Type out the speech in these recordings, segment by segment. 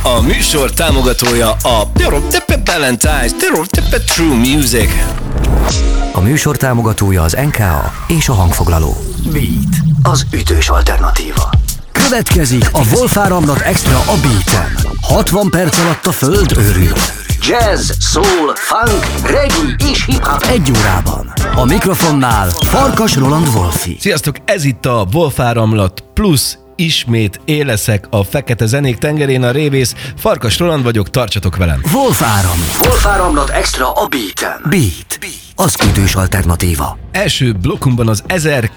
A műsor támogatója a Valentine's True Music. A műsor támogatója az NKA és a hangfoglaló. Beat, az ütős alternatíva. Következik a Wolf Áramlat Extra a Beaten. 60 perc alatt a föld őrül. Jazz, soul, funk, reggae és hip-hop egy órában. A mikrofonnál Farkas Roland Wolfi. Sziasztok, ez itt a Wolf Áramlat plusz. Ismét éleszek a fekete zenék tengerén, a révész. Farkas Roland vagyok, tartsatok velem. Wolf Áramlat. Wolf Áramlat Extra a Beaten. Beat, az ütős alternatíva. Első blokkunkban az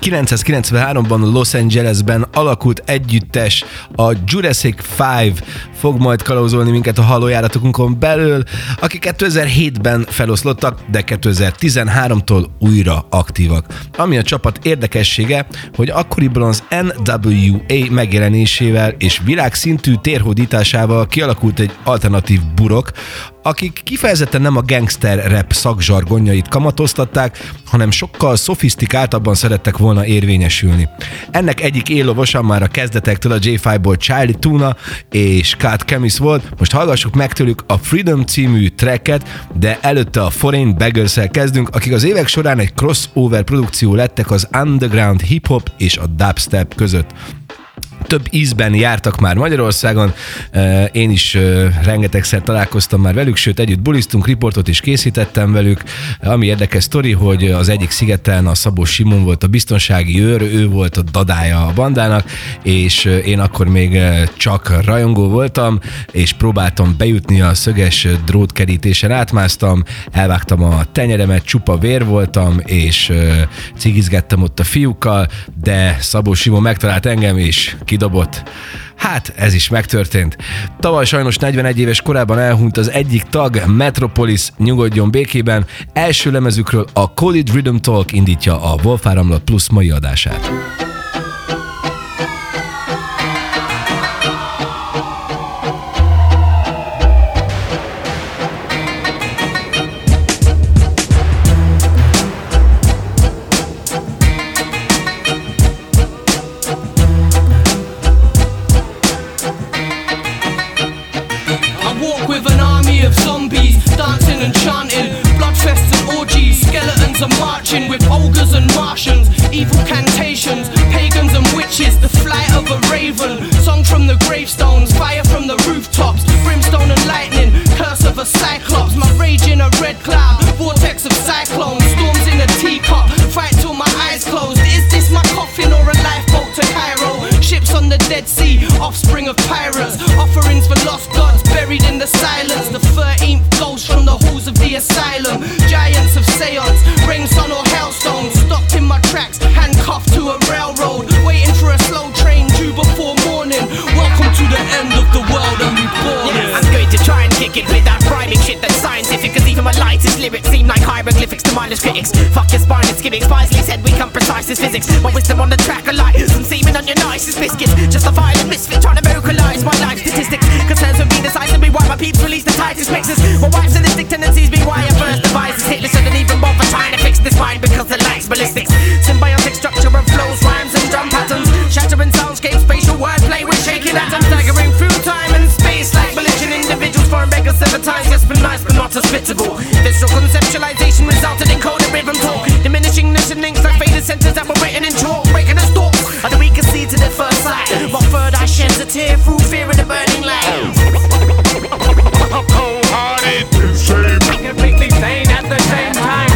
1993-ban Los Angelesben alakult együttes, a Jurassic 5 fog majd kalauzolni minket a hallójáratokon belül, akik 2007-ben feloszlottak, de 2013-tól újra aktívak. Ami a csapat érdekessége, hogy akkoriban az NWA megjelenésével és világszintű térhódításával kialakult egy alternatív burok, akik kifejezetten nem a gangster rap szakzsargonjait kamatoztatták, hanem sokkal szofisztikáltabban szerettek volna érvényesülni. Ennek egyik éllovosa már a kezdetektől a J5-ból Charlie Tuna és Cat Chemis volt, most hallgassuk meg tőlük a Freedom című tracket, de előtte a Foreign Beggars-szel kezdünk, akik az évek során egy crossover produkció lettek az underground hip-hop és a dubstep között. Több ízben jártak már Magyarországon, én is rengetegszer találkoztam már velük, sőt együtt bulisztunk, riportot is készítettem velük. Ami érdekes sztori, hogy az egyik szigeten a Szabó Simon volt a biztonsági őr, ő volt a dadája a bandának, és én akkor még csak rajongó voltam, és próbáltam bejutni a szöges drótkerítésen, átmásztam, elvágtam a tenyeremet, csupa vér voltam, és cigizgettem ott a fiúkkal, de Szabó Simon megtalált engem, és kidobott. Hát, ez is megtörtént. Tavaly sajnos 41 éves korában elhunyt az egyik tag, Metropolis, nyugodjon békében. Első lemezükről a College Rhythm Talk indítja a Wolf Áramlat Plus mai adását. Are marching with ogres and Martians, evil cantations, pagans and witches, the flight of a raven, song from the gravestones, fire from the rooftops, brimstone and lightning, curse of a cyclops, my rage in a red cloud, vortex of cyclones, storms in a teacup, fight till my eyes closed. Is this my coffin or a lifeboat to Cairo? Ships on the Dead Sea, offspring of pirates, offerings for lost gods buried in the silence, the 13th ghost from the halls of the asylum, giants of seance, rain, sun or hailstones, stopped in my tracks, handcuffed to a railroad, waiting for a slow train due before morning. Welcome to the end of the world and we born. Yeah, I'm going to try and kick it with that rhyming shit that's scientific, cause even my lightest lyrics seem like hieroglyphics to mindless critics. Fuck your spine, it's gimmicks. Wisely said we come precise as physics. My wisdom on the track of light, some semen on your nicest biscuits. Just a violent misfit trying to vocalize my life statistics. Concerns with me decisively why my peeps release the tightest mixes. My wife's sadistic tendencies be why I first devised Hitler shouldn't even bother trying to fix this mind because the light's ballistics. Symbiotic structure of flows, rhymes and drum patterns, shattering soundscapes, spatial wordplay with shaking atoms, staggering through time and space like belligerent individuals. Foreign beggars 7 times, yes but nice but not hospitable. Visual conceptualization resulted in coded rhythm talk, diminishing nation links like faded sentences that were written in chalk, breaking the stalk of the we can see to the first sight. My third eye sheds a tear through fear of the burning light. Cold-hearted, insane, Completely sane at the same time.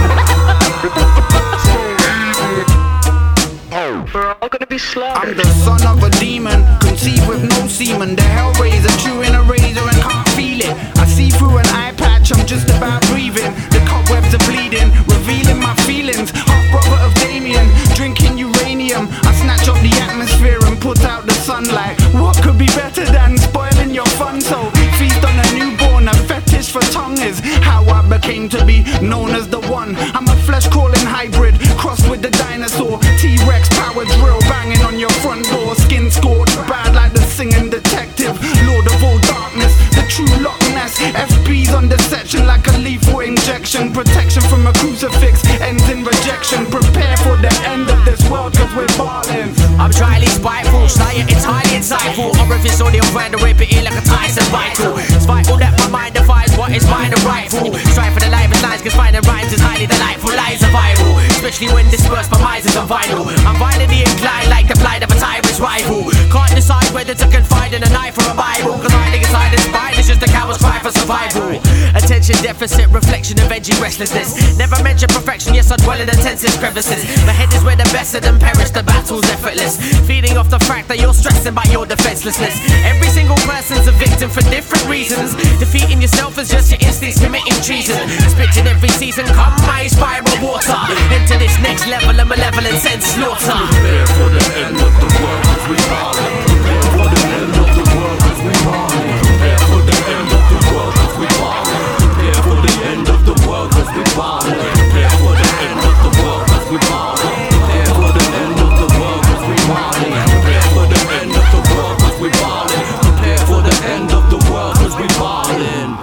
we're all gonna be slaughtered. I'm the son of a demon, conceived with no semen. The hellraiser, chewing a razor and can't feel it. I see through an eye patch, I'm just about breathing. The cobwebs are bleeding, revealing my feelings. Half brother of Damien, drinking uranium. I snatch up the atmosphere and put out the sunlight. What could be better than spoiling your fun? So feast on a newborn, a fetish for tongue is how I became to be known as the one. I'm a flesh-crawling hybrid, crossed with the dinosaur. T-Rex power drill banging on your front door. Skin scorched, bad like the singing detective. Lord of all darkness, the true Loch Ness. FP's on the section like a lethal injection. Protection from a crucifix ends in rejection. Prepare for the end of this world cause we're ballin'. I'm dryly spiteful, sly yet entirely insightful. Orifice audio brand to rip it in like a tie nice and vital. It's vital that my mind defies what is mine and rightful. Strive for the livest lines, cause finding rhymes is highly delightful. Lies are viral, especially when dispersed by misers on vinyl. I'm violently inclined like the plight of a tyrant's rival. Can't decide whether to confide in a knife or a Bible, cause hiding inside this spine is just a coward's cry for survival. Attention deficit, reflection of edgy restlessness. Never mention perfection, yes I dwell in the tensest crevices. My head is where the best of them perish, the battle's effortless. Feeding off the fact that you're stressing by your defenselessness. Every single person's a victim for different reasons. Defeating yourself is just your instincts committing treason. Spitting every season, come my spiral water into this next level of malevolence and slaughter. Prepare for the end of the world as we ballin'. Prepare for the end of the world as we ballin'. Prepare for the end of the world as we ballin'. Prepare for the end of the world as we ballin'. Prepare for the end of the world as we ballin'. Prepare for the end of the world as we ballin'. Prepare for the end of the world as we ballin'. Prepare for the end of the world as we ballin'.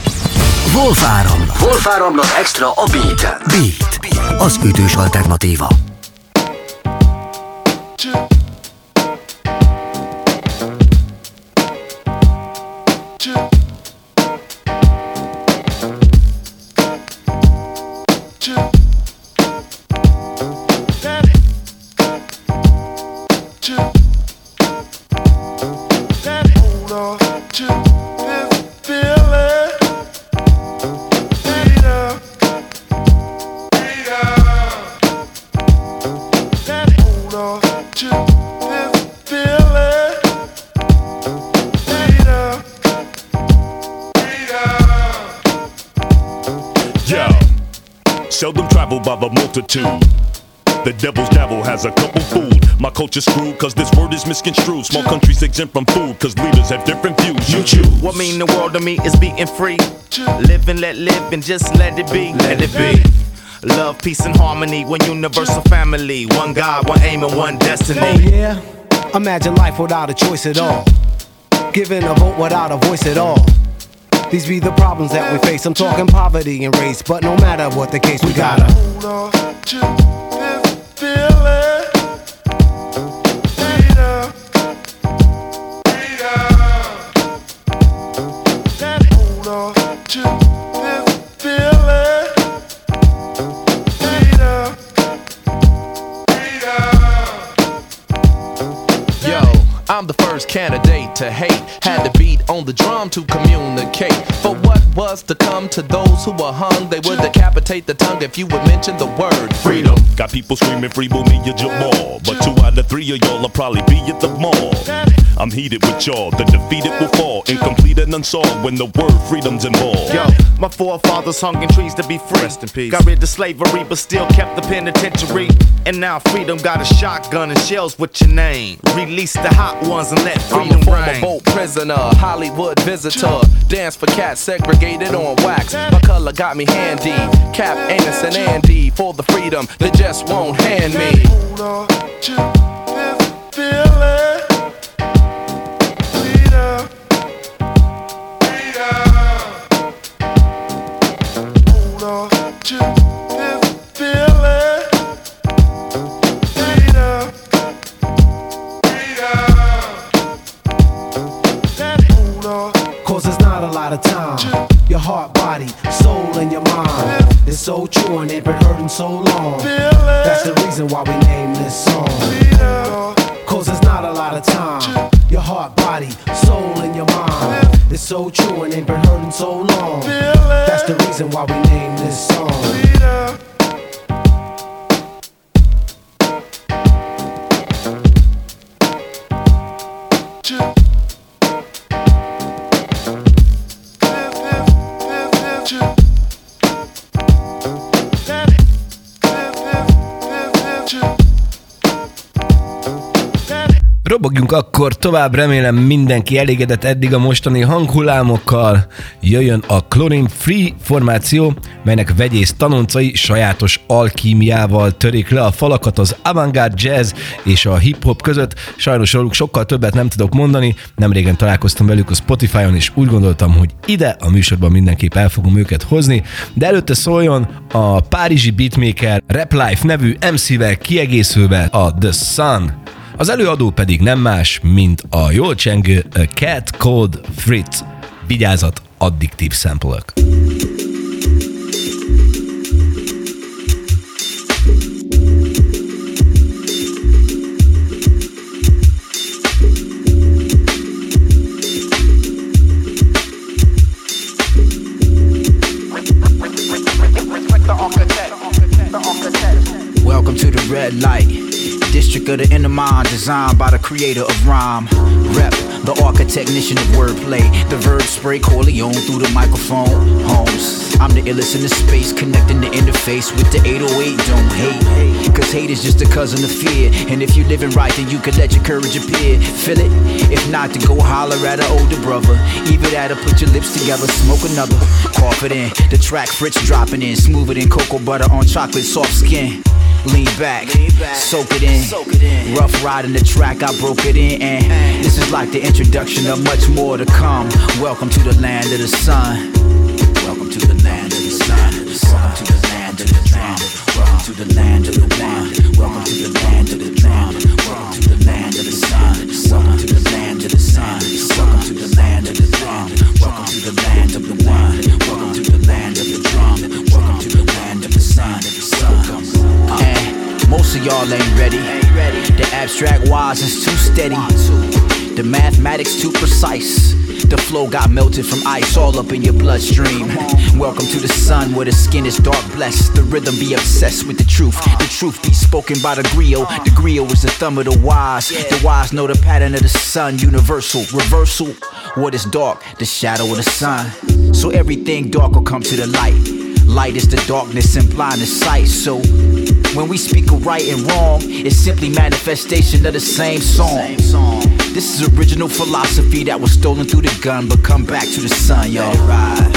Wolf Áramlat Extra a Beat-en. Beat, az ütős alternatíva. Seldom traveled by the multitude. The devil's dabble has a couple food. My culture's screwed cause this word is misconstrued. Small countries exempt from food cause leaders have different views. You choose. What mean the world to me is being free. Live and let live and just let it be. Let it be. Love, peace and harmony. One universal family. One God, one aim and one destiny. Oh yeah. Imagine life without a choice at all. Giving a vote without a voice at all. These be the problems that we face. I'm talking poverty and race, but no matter what the case, we gotta hold on to this feeling. Hold on to this feeling. Yo, I'm the first candidate to hate. Had to beat on the drum to communicate. For what was to come to those who were hung, they would decapitate the tongue if you would mention the word freedom. Got people screaming free Mumia Jamal, but 2 out of 3 of y'all will probably be at the mall. I'm heated with y'all, the defeated will fall, incomplete and unsolved when the word freedom's involved. Yo, my forefathers hung in trees to be free. Rest in peace. Got rid of slavery but still kept the penitentiary. And now freedom got a shotgun and shells with your name. Release the hot ones and let freedom I'm a reign. former boat prisoner, Hollywood visitor. Dance for cats segregated on wax. My color got me handy. Cap, Amos, and Andy for the freedom they just won't hand me. Hold on to this feeling. Freedom. Hold on to this feeling. Freedom. Hold on. Cause there's not a lot of time. Your heart, body, soul, and your mind is so true and they've been hurting so long. That's the reason why we named this song. Cause there's not a lot of time. Your heart, body, soul, and your mind is so true and they've been hurting so long. That's the reason why we named this song. Robogjunk akkor tovább, remélem mindenki elégedett eddig a mostani hanghullámokkal. Jöjjön a Chlorine Free formáció, melynek vegyész tanoncai sajátos alkímiával törik le a falakat az avantgárd jazz és a hip-hop között. Sajnos róluk sokkal többet nem tudok mondani, nemrégen találkoztam velük a Spotify-on, és úgy gondoltam, hogy ide a műsorban mindenképp el fogom őket hozni, de előtte szóljon a párizsi beatmaker Rap Life nevű MC-vel kiegészülve a The Sun. Az előadó pedig nem más, mint a jól csengő Cat Code Fritz. Vigyázat, addiktív sample-ök. Welcome to the red light, district of the inner mind, designed by the creator of rhyme. Rep, the architectnician of wordplay, the verb spray Corleone through the microphone. Holmes, I'm the illest in the space, connecting the interface with the 808. Don't hate, cause hate is just a cousin of fear. And if you living right, then you can let your courage appear. Feel it? If not, then go holler at an older brother. Either that or put your lips together, smoke another. Cough it in, the track Fritz dropping in, smoother than cocoa butter on chocolate, soft skin. Lean back, soak it in. Rough riding the track, I broke it in. And this is like the introduction of much more to come. Welcome to the land of the sun. Welcome to the land of the sun. Welcome to the land of the drum. Welcome to the land of the one. Welcome to the land of the drum. Welcome to the land of the sun. Welcome to the land of the sun. Welcome to the land of the drum. Welcome to the land of the one. Welcome to the land of the drum. Welcome to the land of the sun. And most of y'all ain't ready. The abstract wise is too steady. The mathematics too precise. The flow got melted from ice all up in your bloodstream. Welcome to the sun where the skin is dark blessed. The rhythm be obsessed with the truth. The truth be spoken by the griot. The griot is the thumb of the wise. The wise know the pattern of the sun. Universal, reversal. What is dark? The shadow of the sun. So everything dark will come to the light. Light is the darkness implying the sight. So when we speak of right and wrong, it's simply manifestation of the same song. This is original philosophy that was stolen through the gun, but come back to the sun, y'all. Let it ride.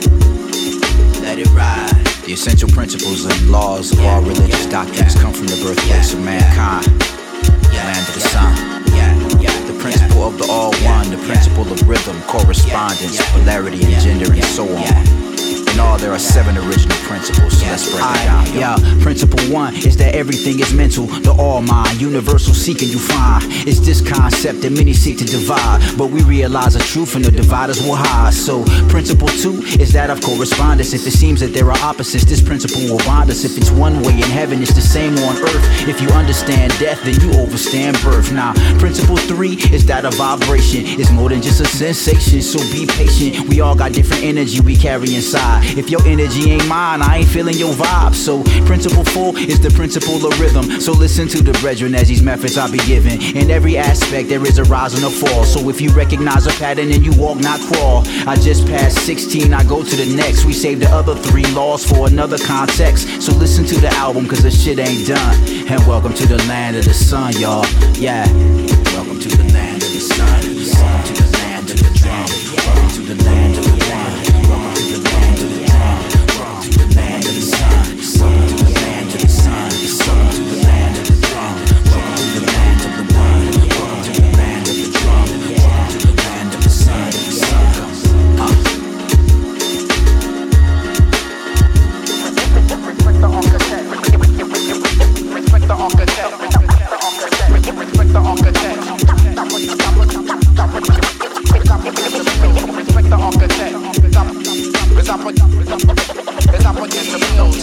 Let it ride. The essential principles and laws of all religious doctrines come from the birthplace of mankind, land of the sun. The principle of the all one, the principle of rhythm, correspondence, polarity, and gender, and so on. In all, there are 7 original principles, so let's break it down. Principle 1 is that everything is mental, the all mind, universal seeking you find. It's this concept that many seek to divide, but we realize the truth and the dividers will hide. So principle 2 is that of correspondence. If it seems that there are opposites, this principle will bind us. If it's one way in heaven, it's the same on earth. If you understand death, then you overstand birth. Now, principle 3 is that of vibration. It's more than just a sensation, so be patient. We all got different energy we carry inside. If your energy ain't mine, I ain't feeling your vibe. So principle 4 is the principle of rhythm. So listen to the brethren as these methods I be giving. In every aspect there is a rise and a fall. So if you recognize a pattern and you walk, not crawl. I just passed 16, I go to the next. We save the other 3 laws for another context. So listen to the album cause the shit ain't done. And welcome to the land of the sun, y'all. Yeah. Welcome to the land of the sun. Welcome to the land of the drum. Welcome to the land of the one. Welcome to the land of the drum. Welcome to the land of the sun. Welcome to the land of the sun. Welcome to the land of the drum. Welcome to the land of the one. Welcome to the land of the drum. Welcome to the land of the sun. Respect the architect. Respect the architect. Respect the architect. Respect the architect. Cause I put in the bills.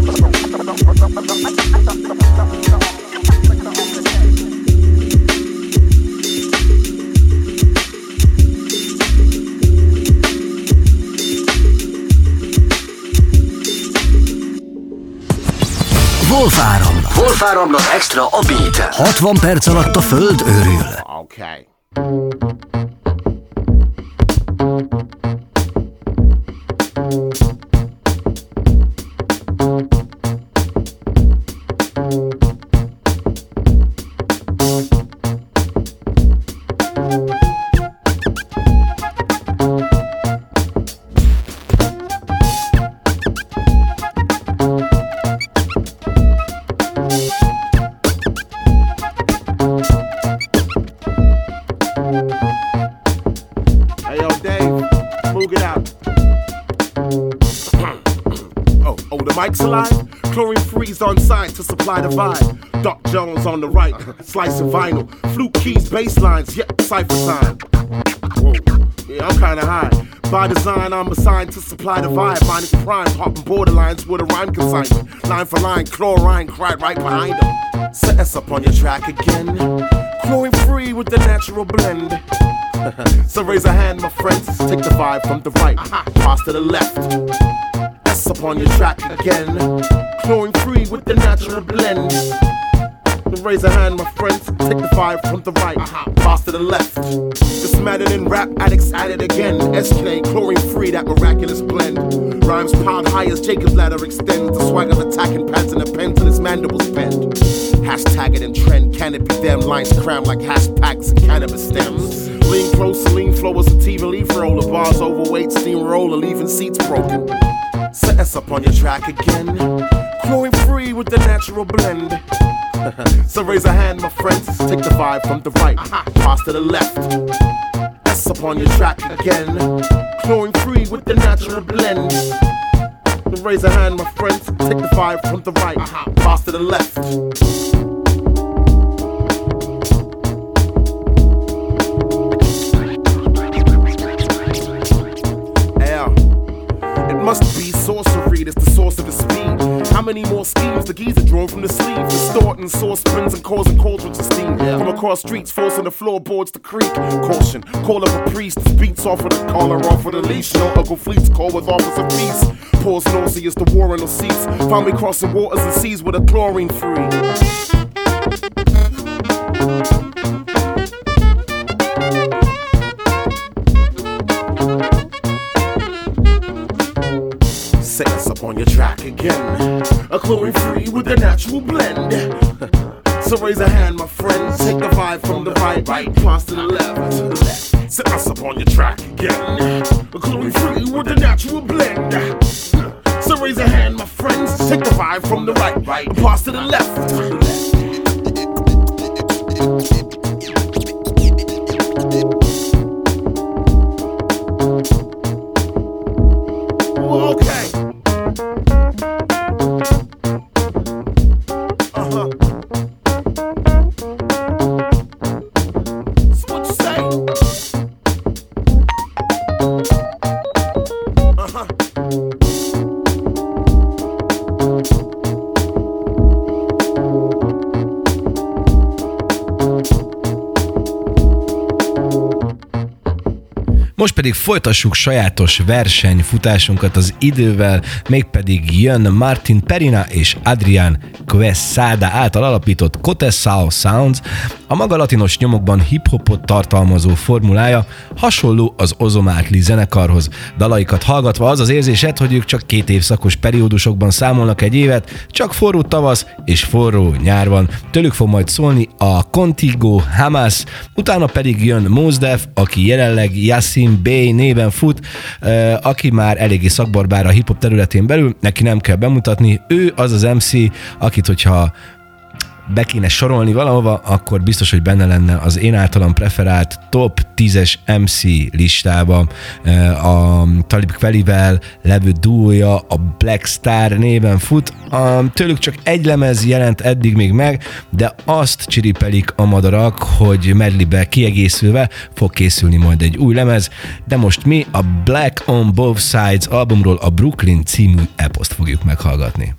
Wolfáramlat extra a beat. 60 perc alatt a föld őrül. Okay. Mike's alive, chlorine freeze on site to supply the vibe. Doc Jones on the right, slice of vinyl. Flute keys, bass lines, yeah, cypher time. Whoa, yeah, I'm kinda high. By design, I'm assigned to supply the vibe. Mine is prime, hopping borderlines with a rhyme consignment. Line for line, chlorine, cried right behind them. Set us up on your track again. Chlorine free with the natural blend. So raise a hand, my friends. Take the vibe from the right, pass to the left. S up on your track again. Chlorine free with the natural blend. Raise a hand, my friends. Take the vibe from the right, pass to the left. This madden in rap addicts at it again. SK, chlorine free, that miraculous blend. Rhymes piled high as Jacob's ladder extends. The swagger's attacking pants and the pen till his mandibles bend. Hashtag it in trend, can it be them? Lines crammed like hash packs and cannabis stems. Lean close, lean flow a sativa leaf roller. Bars overweight, steamroller, leaving seats broken. Set us up on your track again. Chlorine free with the natural blend. So raise a hand, my friends. Take the vibe from the right, pass to the left. S up on your track again. Chlorine free with the natural blend. Raise a hand, my friends. Take the vibe from the right, pass to the left. Must be sorcery, that's the source of the speed. How many more schemes the geezer drawn from the sleeve? Distorting saucepans and causing cauldrons of steam. From across streets, forcing the floorboards to creak. Caution, call up a priest. Beats off of the collar, off of the leash. No Uncle Fleet's call with offers of peace. Pause nauseous, the war in the seats. Found me crossing waters and seas with a chlorine free. Set us up on your track again. A chlorine free with a natural blend. So raise a hand, my friends. Take the vibe from the right, pass to the left. Set us up on your track again. A chlorine free with a natural blend. So raise a hand, my friends. Take the vibe from the right, pass to the left. Okay. Most pedig folytassuk sajátos versenyfutásunkat az idővel, mégpedig jön Martin Perina és Adrián Quesada által alapított Cotesao Sounds. A maga latinos nyomokban hip-hopot tartalmazó formulája hasonló az Ozomatli zenekarhoz. Dalaikat hallgatva az az érzésed, hogy ők csak 2 évszakos periódusokban számolnak egy évet, csak forró tavasz és forró nyár van. Tőlük fog majd szólni a Contigo Hamas, utána pedig jön Mos Def, aki jelenleg Yasin Bey néven fut, aki már eléggé szakbarbár a hip-hop területén belül, neki nem kell bemutatni, ő az az MC, akit hogyha be kéne sorolni valahova, akkor biztos, hogy benne lenne az én általam preferált top 10-es MC listába. A Talib Kwelivel levő duója, a Black Star néven fut. Tőlük csak egy lemez jelent eddig még meg, de azt csiripelik a madarak, hogy medleybe kiegészülve fog készülni majd egy új lemez, de most mi a Black on Both Sides albumról a Brooklyn című eposzt fogjuk meghallgatni.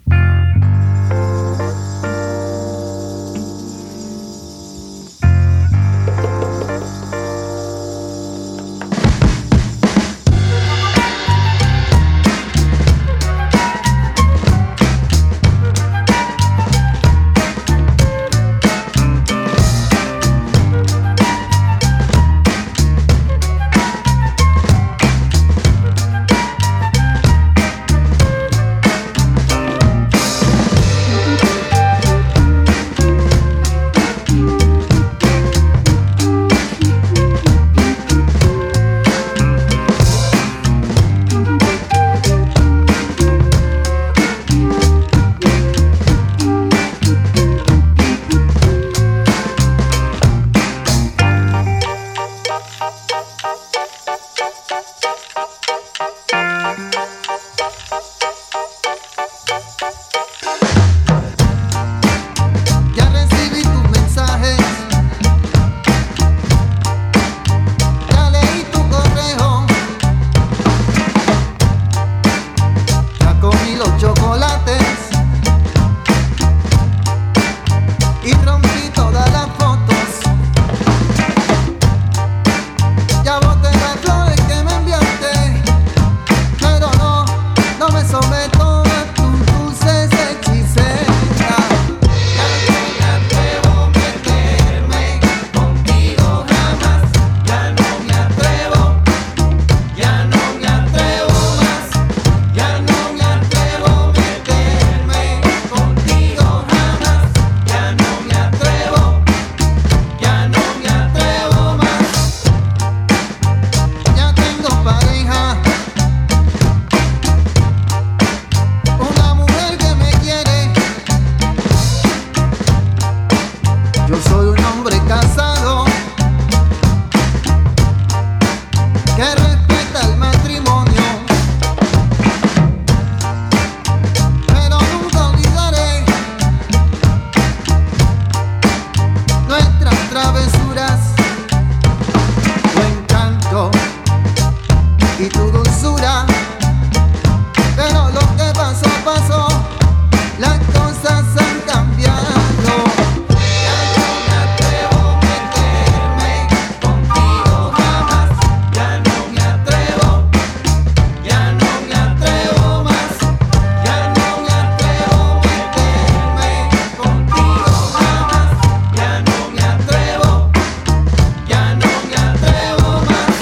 que respeta el matrimonio. Pero nunca olvidaré nuestras travesuras, tu encanto y tu dulzura. Pero lo que pasó, pasó, las cosas han cambiado. Ya no me atrevo a meterme contigo jamás. Ya no me atrevo, ya no me atrevo más. Ya no me atrevo a meterme contigo jamás. Ya no me atrevo, ya no me atrevo más.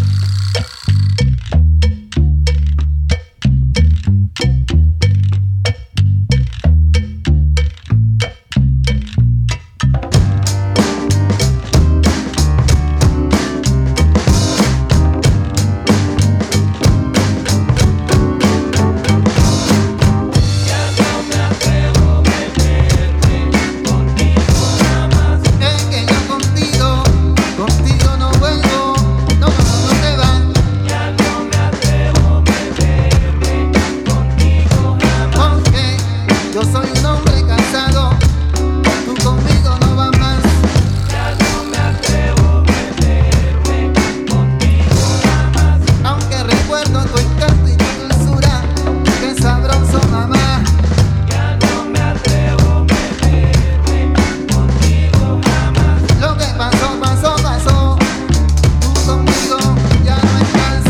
Es que yo contigo no vuelvo, no te vas. Ya no me atrevo a meterme contigo jamás. Porque yo soy un hombre cansado, tú conmigo no vas más. Ya no me atrevo a meterme contigo jamás. Aunque recuerdo tu encanto y tu dulzura, qué sabroso mamá. Ya no me atrevo a meterme contigo jamás. Lo que pasó, pasó, pasó. Tú conmigo ya no estás.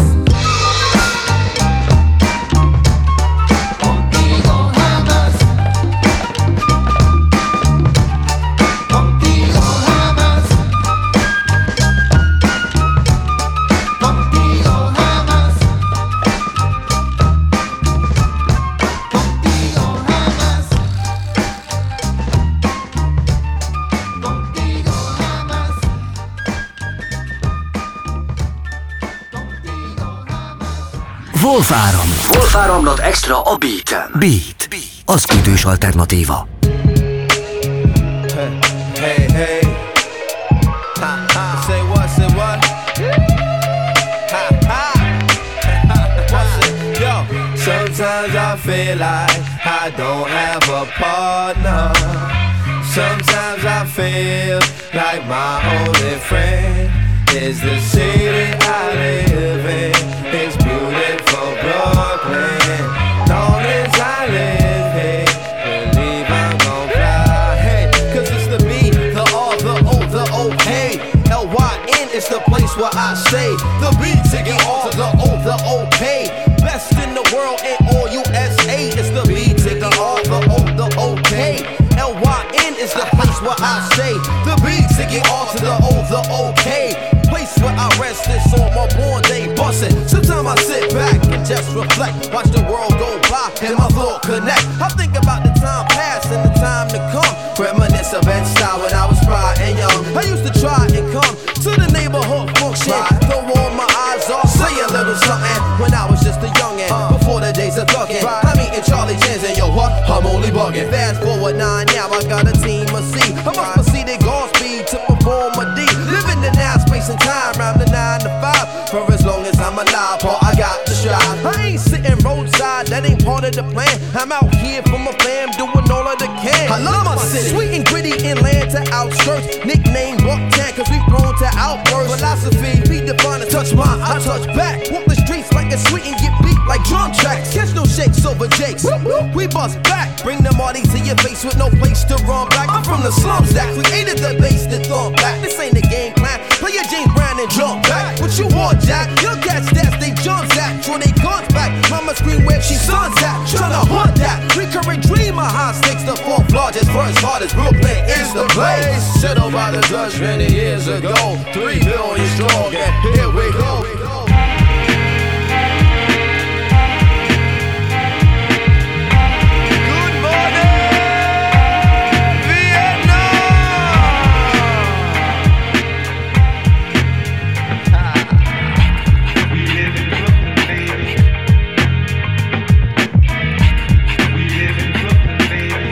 Contigo jamás. Contigo jamás. Contigo jamás. Contigo jamás. Contigo jamás. Wolfáram. Wolfáramlat extra a beaten. Beat. Az ütős alternatíva. Hey, hey. Ha, ha. Say what, say what? Ha, ha. What's it? Yo, sometimes I feel like I don't have a partner. Sometimes I feel like my only friend is the city I live in. It's beautiful Brooklyn. Long as I live here, believe I'm gon' fly. Hey, cause it's the B, the R, the O, the O, hey. L-Y-N is the place where I stay. The B to the R, the O, the O-K. Best in the world in all USA. It's the B to the R, the O, the O-K. L-Y-N is the place where I stay. The B to the R to the O, the O-K. Place where I rest this on my born day bustin'. Sometimes I sit back and just reflect, watch the world go by and my thought connect. I think about the time past and the time to come. Reminisce of Bed-Stuy when I was spry and young. I used to try and come to the neighborhood function, throw all my eyes off, say a little something. When I was just a youngin', before the days of thuggin', I'm eating Charlie Chins and yo what? I'm only buggin'. Fast forward 9 now, I got a team of C. I must proceed at Godspeed to perform a D. Living in now space and time, round the 9 to 5. For as long as I'm alive, Paul, I got to strive. I ain't sitting roadside, that ain't part of the plan. I'm out here for my fam, doing all I can. I love my city, sweet and gritty inland to outskirts. Nickname Bucktown, cause we prone to outbursts. Philosophy, be divine and touch mine, I touch back. Walk the streets like it's sweet and get beat like drum tracks. Catch no shakes over jakes, we bust back. Bring the Marty to your face with no place to run back. I'm from the slums that created the bass that thump back. This ain't a game plan, play your James Brown and jump back. What you want, Jack? Young cats stats they jumps at, throw they guns back. Mama scream where she sons at, tryna hunt that. Recurring dream of high stakes, the fourth largest, first hardest. Brooklyn is the place. Settled by the Dutch many years ago. 3 billion strong, and here we go.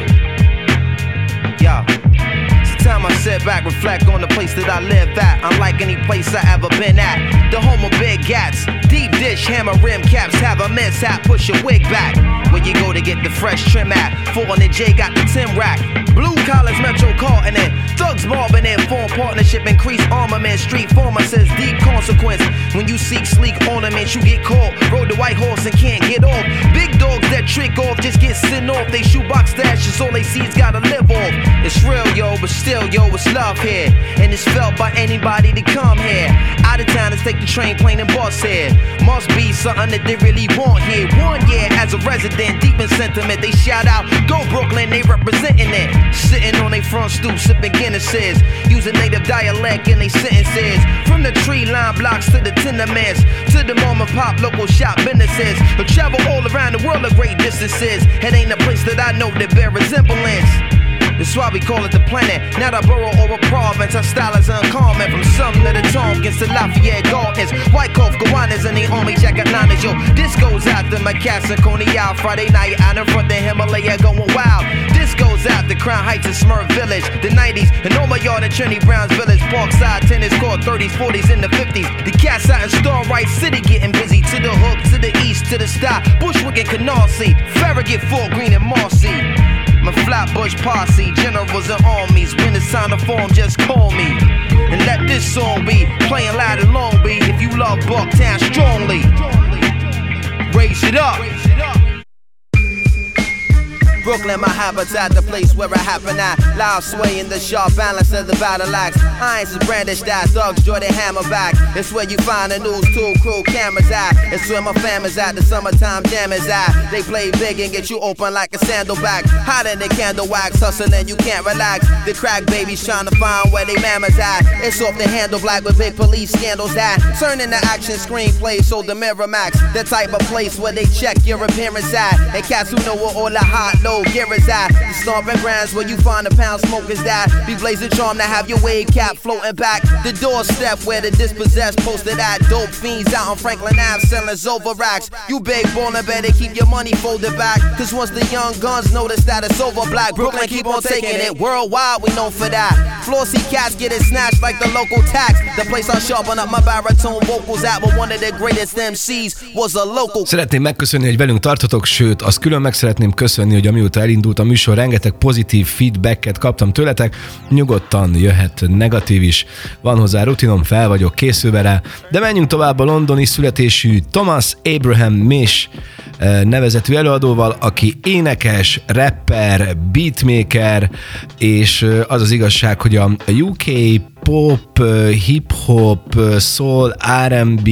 Back, reflect on the place that I live at. I'm like like any place I ever been at. The home of big gats, deep dish, hammer rim caps, have a mishap, push your wig back. Where you go to get the fresh trim at? 400 J got the Tim rack. Blue collars, Metro carting it. Thugs mobbing in, form partnership, increase armament. Street former says deep consequence. When you seek sleek ornaments, you get caught. Rode the white horse and can't get off. Big dogs that trick off just get sent off. They shoebox stashes, all they see is gotta live off. It's real, yo, but still, yo, it's love here. And it's felt by anybody to come here. Out of towners take the train, plane, and bus here. Must be something that they really want here. 1 year as a resident, deep in sentiment, they shout out, go Brooklyn, they representing it. Sitting on they front stoop, sipping Guinnesses, using native dialect in they sentences. From the tree line blocks to the tenements, to the mom and pop local shop businesses. But travel all around the world at great distances. It ain't a place that I know that bear resemblance. That's why we call it the planet, not a borough or a province. Our style is uncommon, from Sumner to the Tompkins to Lafayette Gardens, Wyckoff, Gowanus, and the Army Jacket Liners. Yo, this goes out to my cats and Coney Island. Friday night out in front of Himalaya going wild. This goes out to Crown Heights and Smurf Village, the 90s, and all my yard in Trinity Brown's Village, Parkside, tennis court, 30s, 40s, and the 50s. The cats out in Starlight City getting busy, to the hook, to the east, to the stop, Bushwick and Canarsie, Farragut, Fort Greene, and Marcy. My Flatbush posse, generals and armies. When it's time to form, just call me. And let this song be playing loud in Long Beach. If you love Bucktown strongly, raise it up. Brooklyn, my habitat, the place where it happen at. Loud sway in the sharp balance of the battle axe. Irons is brandished that, thugs draw their hammer back. It's where you find the news tool crew cameras at. It's where my fam is at, the summertime jam is at. They play big and get you open like a sandalback. Hotter than candle wax, hustling you can't relax. The crack babies trying to find where they mamas at. It's off the handle black with big police scandals at. Turning the action screenplay so the Miramax. The type of place where they check your appearance at. And cats who know where all the hot low gear is at. The stomping grounds where you find the pound smokers that be blazing charm to have your wave cap floating back. The doorstep where the dispossessed posted at. Dope fiends out on Franklin Ave selling over racks. You big baller better keep your money folded back, cause once the young guns notice that it's over black, Brooklyn keep on taking it. Worldwide we known for that. Flossy cats get it snatched like the local tax. The place I sharpen up my baritone vocals at, but one of the greatest MCs was a local. Szeretném megköszönni, hogy velünk tartotok, sőt, azt külön meg szeretném köszönni, hogy amióta elindult a műsor, rengeteg pozitív feedbacket kaptam tőletek. Nyugodtan jöhet negatív is, van hozzá rutinom, fel vagyok készülve rá. De menjünk tovább a londoni születésű Thomas Abraham Mish nevezetű előadóval, aki énekes, rapper, beatmaker, és az az igazság, hogy a UK pop, hip-hop, soul, R&B,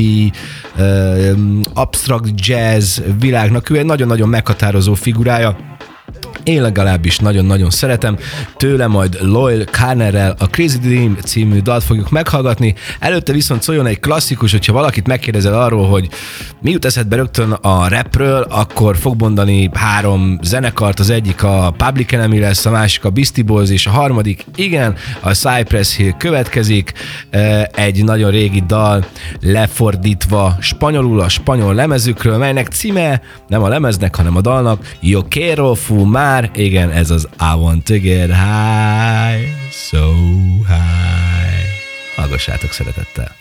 abstract jazz világnak ő egy nagyon-nagyon meghatározó figurája. Én legalábbis nagyon-nagyon szeretem. Tőle majd Loyle Carnerrel a Crazy Dream című dalt fogjuk meghallgatni. Előtte viszont szóljon egy klasszikus, hogyha valakit megkérdezel arról, hogy mi jut eszedbe rögtön a rapről, akkor fog mondani 3 zenekart, az egyik a Public Enemy lesz, a másik a Beastie Boys, és a harmadik, igen, a Cypress Hill következik. Egy nagyon régi dal lefordítva spanyolul a spanyol lemezükről, melynek címe nem a lemeznek, hanem a dalnak Yo quiero fumar. Igen, ez az I want to get high, so high. Hallgassátok szeretettel.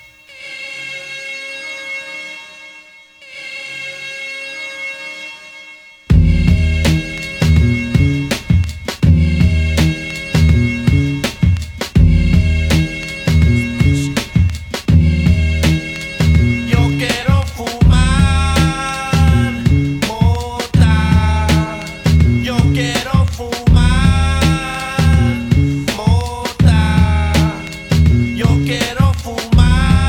Quiero fumar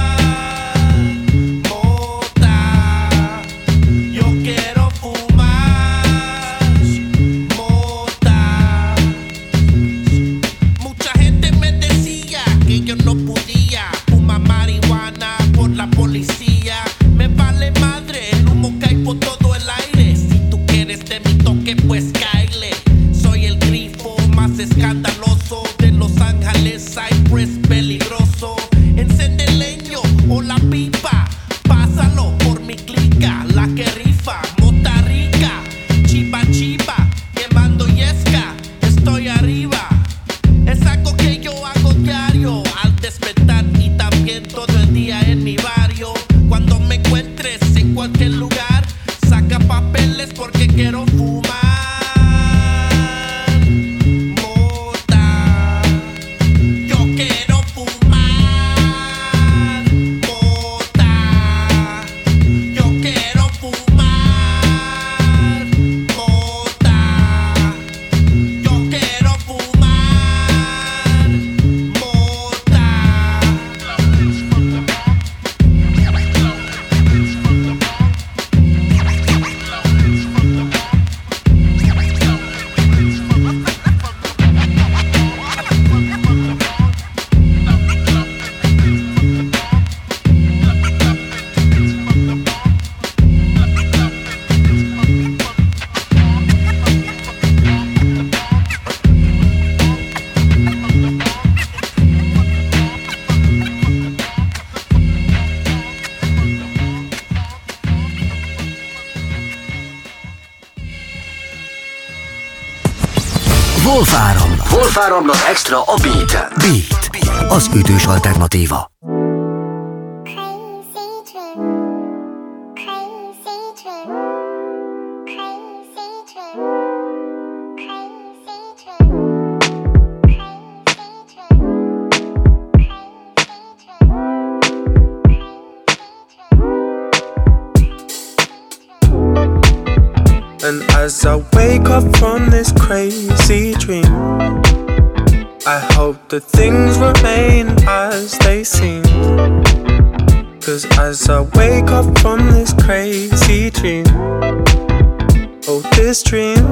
Wolf Áramlat Extra a Beat-en. Beat, az ütős alternatíva. And as I wake up from this crazy dream, I hope that things remain as they seem. 'Cause as I wake up from this crazy dream, oh this dream.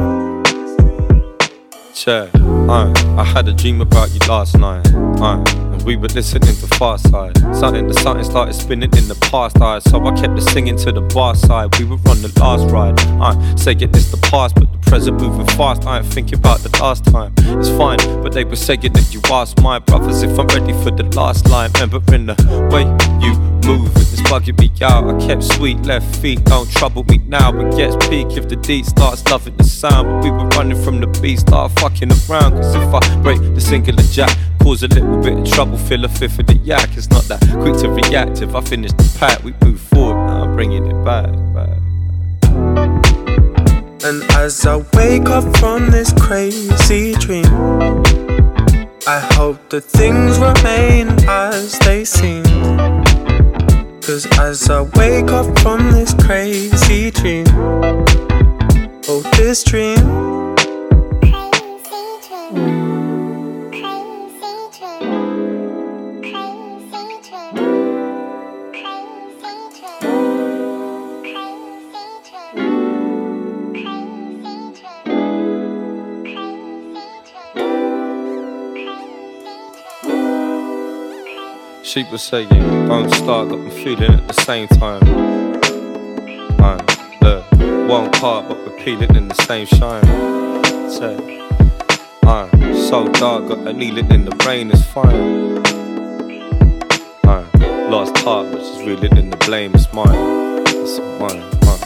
Check, I had a dream about you last night, and we were listening to Far Side. Something started spinning in the past, so I kept it singing to the bar side. We were on the last ride, saying it's the past, but the present moving fast. I ain't thinking about the last time. It's fine, but they were saying that you asked my brothers if I'm ready for the last line. Remembering the way you move, it's bugging me out. I kept sweet left feet, don't trouble me now. It gets peak if the D starts loving the sound. But we were running from the beat, start fucking around. 'Cause if I break the singular jack, cause a little bit of trouble, fill a fifth of the yak. It's not that quick to react. If I finish the pack, we move forward. Now I'm bringing it back. And as I wake up from this crazy dream, I hope that things remain as they seem. 'Cause as I wake up from this crazy dream, oh this dream. She was saying, don't start, got me feeling at the same time. Look, one part, but we're peeling in the same shine. Say, so dark, got a needle in the brain, it's fine. Lost heart, but she's reeling in the blame, it's mine. It's mine.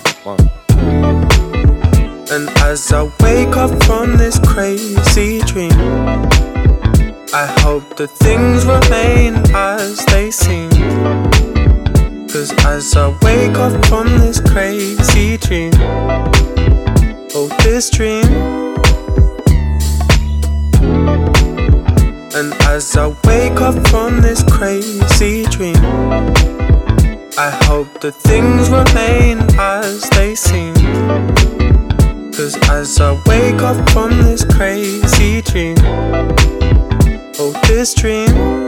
And as I wake up from this crazy dream, I hope that things remain as they seem. 'Cause as I wake up from this crazy dream, oh this dream. And as I wake up from this crazy dream, I hope that things remain as they seem. 'Cause as I wake up from this crazy dream, oh this dream.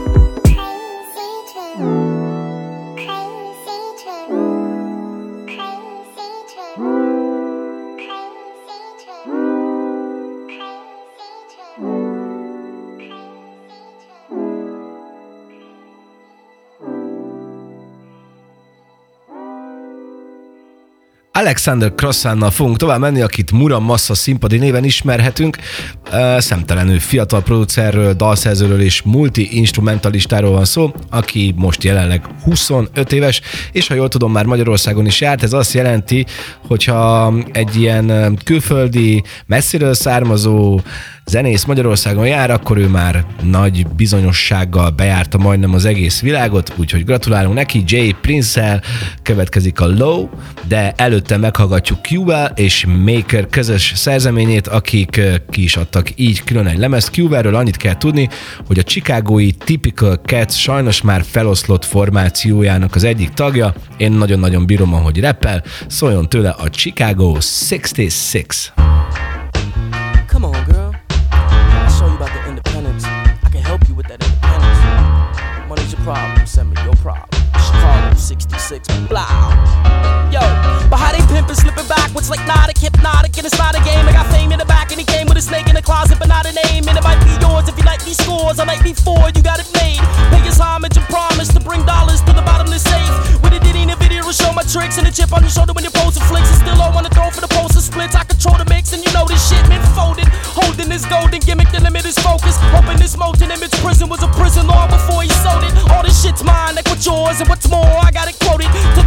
Alexander Crossannal fogunk tovább menni, akit Muramasa színpadi néven ismerhetünk. Szemtelenül fiatal producerről, dalszerzőről és multi-instrumentalistáról van szó, aki most jelenleg 25 éves, és ha jól tudom, már Magyarországon is járt. Ez azt jelenti, hogyha egy ilyen külföldi, messziről származó zenész Magyarországon jár, akkor ő már nagy bizonyossággal bejárta majdnem az egész világot, úgyhogy gratulálunk neki. Jay Prince-el következik a Low, de előtte meghallgatjuk Q-vel és Maker közös szerzeményét, akik ki is adtak így külön egy lemezt. Q-vel annyit kell tudni, hogy a chicagói Typical Cats sajnos már feloszlott formációjának az egyik tagja. Én nagyon-nagyon bírom, ahogy rappel, szóljon tőle a Chicago 66. Come on, girl. I'll show you about the independence. I can help you with that independence. Money's your problem, send me your problem. Chicago 66, blah. Yo, but how they pimpin', slipping backwards like Nautic, hypnotic, and it's not a game. I got fame in the back, and he came with a snake in the closet, but not a name. And it might be yours if you like these scores. I like before you got it made. Pay his homage and promise to bring dollars to the bottomless safe. With a ditty in the video to show my tricks, and a chip on your shoulder when you're posting flicks. And still on the throne for the poster splits. I control the mix, and you know this shit been folded. Holding this golden gimmick, the limit is focus. Hoping this molten image prison was a prison long before he sold it. All this shit's mine, like what's yours and what's more. I got it quoted to the dotto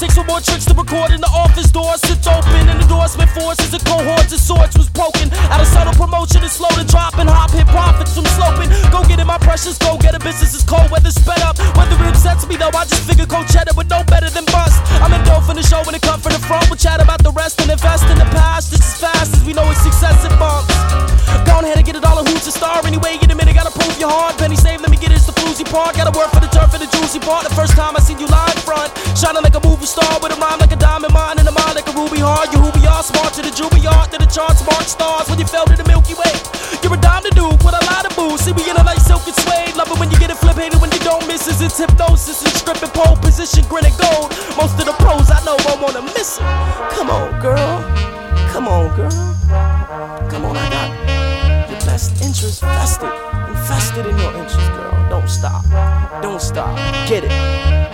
6 with more tricks to record in the office door sits open. And endorsement forces and cohorts of sorts was broken. Out of subtle promotion is slow to drop and hop. Hit profits from sloping. Go get it, my precious. Go get it. Business is cold. Weather sped up. Whether it upsets me though, I just figure cold cheddar with no better than bust. I'm in dough for the show when it come from the front. We'll chat about the rest and invest in the past. Just as fast as we know it's success it bumps. Go on ahead and get it all on who's a star. Anyway, get a minute, gotta prove you're hard. Penny save, let me get it, it's the floozy part. Gotta work for the turf and the juicy part. The first time I seen you live front, shining like a movie star with a rhyme like a diamond mine and a mind like a ruby heart. You who we are, smart to the Juilliard, to the charts, mark stars. When you fell to the Milky Way, you're a dime to do, with a lot of boo. See me in a light silk and suede. Love it when you get it, flip, hate it when you don't miss it. It's hypnosis and stripping pole position, grin and gold. Most of the pros I know won't wanna miss it. Come on, girl. Come on, girl. Come on, I got your best interest vested, invested in your interest, girl. Don't stop, don't stop, get it.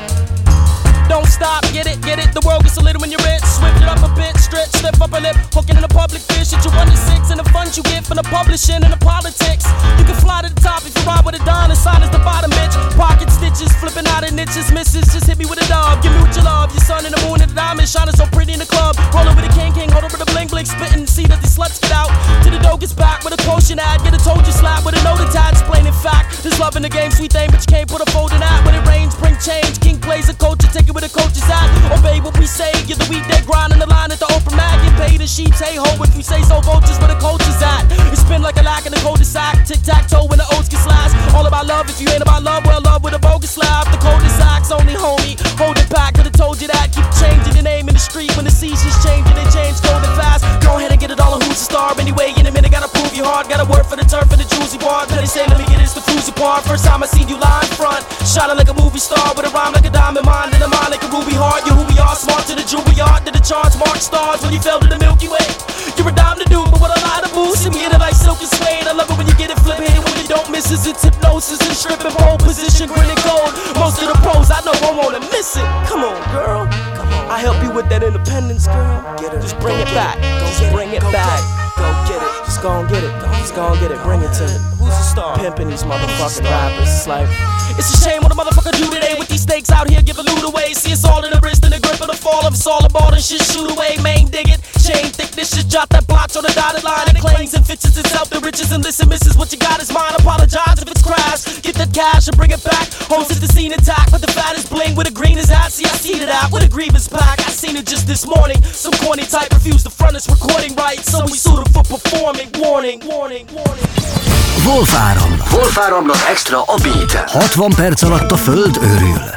Don't stop, get it, the world gets a little when you're rich. Swift it up a bit, stretch, slip up a lip. Hooking in a public fish, shit you 1 to 6. And the funds you get from the publishing and the politics. You can fly to the top if you ride with a dime. The sign is the bottom, bitch. Pocket stitches, flipping out of niches. Misses, just hit me with a dove. Give me what you love, your sun and the moon and the diamond. Shining so pretty in the club. Rolling with a king, hold over the bling bling. Spitting, see that these sluts get out. To the dough gets back with a quotient ad. Get a told you slap with a note attached. Plain in fact, there's love in the game, sweet thing. But you can't put a fold in that. When it rains, bring change. King plays a coach, you take it with a coach is at. Obey what we say, you're the weekday grind in the line at the open mag. Get paid in sheets, hey ho, if you say so, vultures where the coach is at. It's been like a lack in the cul-de-sac. Tic-tac-toe when the oats get slashed. All about love, if you ain't about love, well, love with a bogus laugh. The cul-de-sac's only homie, hold it back. Could've told you that, keep changing your name in the street. When the seasons change and they change golden fast. Go ahead and get it all on who's a star. Anyway, in a minute, gotta prove you hard. Gotta work for the turf and the juicy part. Then they say, let me get it, it's the floozy part. First time I seen you live front, shining like a movie star with a rhyme like a diamond mind and a mind like a ruby heart. You who we are, smart to the Juilliard, to the charts, mark stars. When you fell to the Milky Way, you're a dime to do, but with a lot of booze. See me in it like silk and suede. I love it when you get it, flip, hit it when you don't miss it. It's hypnosis and stripping pole position, grin and gold. Most of the pros I know won't wanna miss it. Come on, girl. Come on. I help you with that independence, girl. Get it. Just bring it back. Just bring it back. Go get it. Just go and get it. Just go and get it. Bring it to me. Who's the star? Pimping these motherfucking rappers. It's like, it's a shame what a motherfucker do today with these snakes out here giving loot away. See it's all in the wrist and the grip of the fall of it's all about and shit shoot away. Main dig it. Chain thickness, just drop that blotch on the dotted line. It claims and fits itself the riches and listen, misses what you got is mine. Apologize if it's crash. Get that cash and bring it back. Homes hit the scene intact, but the fat is bling with the green is at. See I seen it out with a grievance pack. I seen it just this morning. Some corny type refused to front us recording right, so we sued him for performing. Warning, warning, warning. Wolf áramlat extra a beat. 60 perc alatt a föld őrül.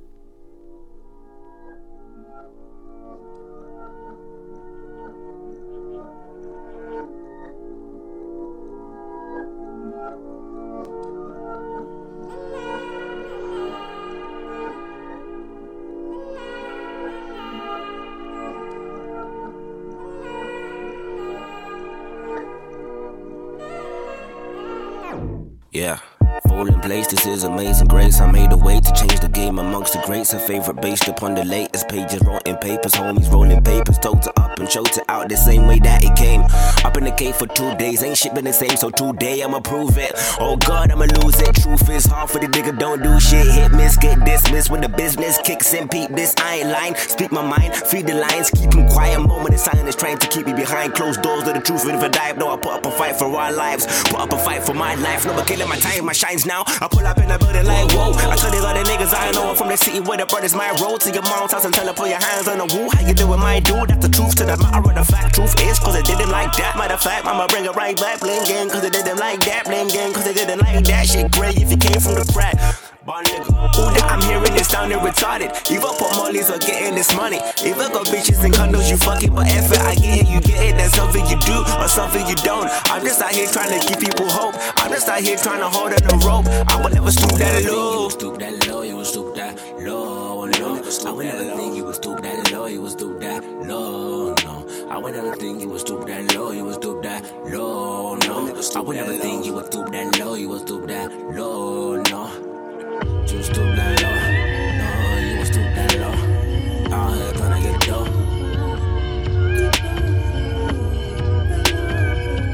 Yeah. Fall in place, this is amazing grace. I made a way to change the game amongst the greats. A favorite based upon the latest pages. Wrote in papers, homies rolling papers. Told it up and choked it out the same way that it came. Up in the cave for 2 days, ain't shit been the same. So today I'ma prove it. Oh God, I'ma lose it. Truth is hard for the nigga, don't do shit. Hit miss, get dismissed when the business kicks in. Peep this, I ain't lying. Speak my mind, feed the lines, keep them quiet. Moment of silence trying to keep me behind closed doors of the truth. And if I die, no, I put up a fight for our lives. Put up a fight for my life. No, but killing my time, my shines now. I pull up in the building like whoa. I tell these other niggas I know I'm from the city where the brothers my road to your mom's house and tell her put your hands on the wall. How you doing, my dude? That's the truth to the matter of the fact. Truth is cause it didn't like that. Matter of fact, I'ma bring it right back. Blame gang cause it didn't like that. Blame gang cause it didn't like that. Shit great if you came from the crack. All that I'm hearing is sounding retarded. Either put mollies or getting this money. Either got bitches and condos, you fuck it, but if it, I get it, you get it. That's something you do or something you don't. I'm just out here trying to give people hope. I'm just out here trying to hold on the rope. I will never stoop that low. You will stoop that low, you will stoop that low, no. I would never think you would stoop that low, you would stoop that low, no. I would never think you would stoop that low, you would stoop that low, no. I would never think you would stoop that low, you would stoop that low, no. You stoop that low, no, you stoop that low. Out here tryna get dough.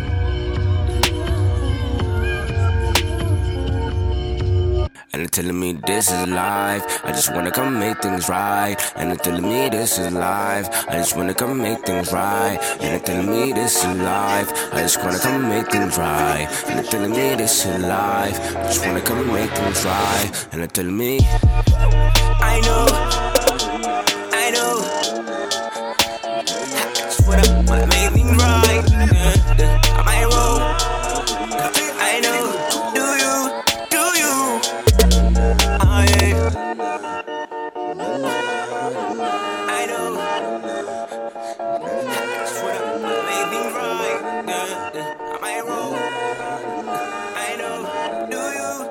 And they're telling me me this is life. I just wanna come make things right. And they're telling me this is life. I just wanna come make things right. And they're telling me this is life. I just wanna come make things right. And they're telling me this is life. I just wanna come make things right. And they're telling me I know, I know. I just wanna make things right. I might roll. I know. Do you? I know. I just wanna make things right. I might roll. I know. Do you?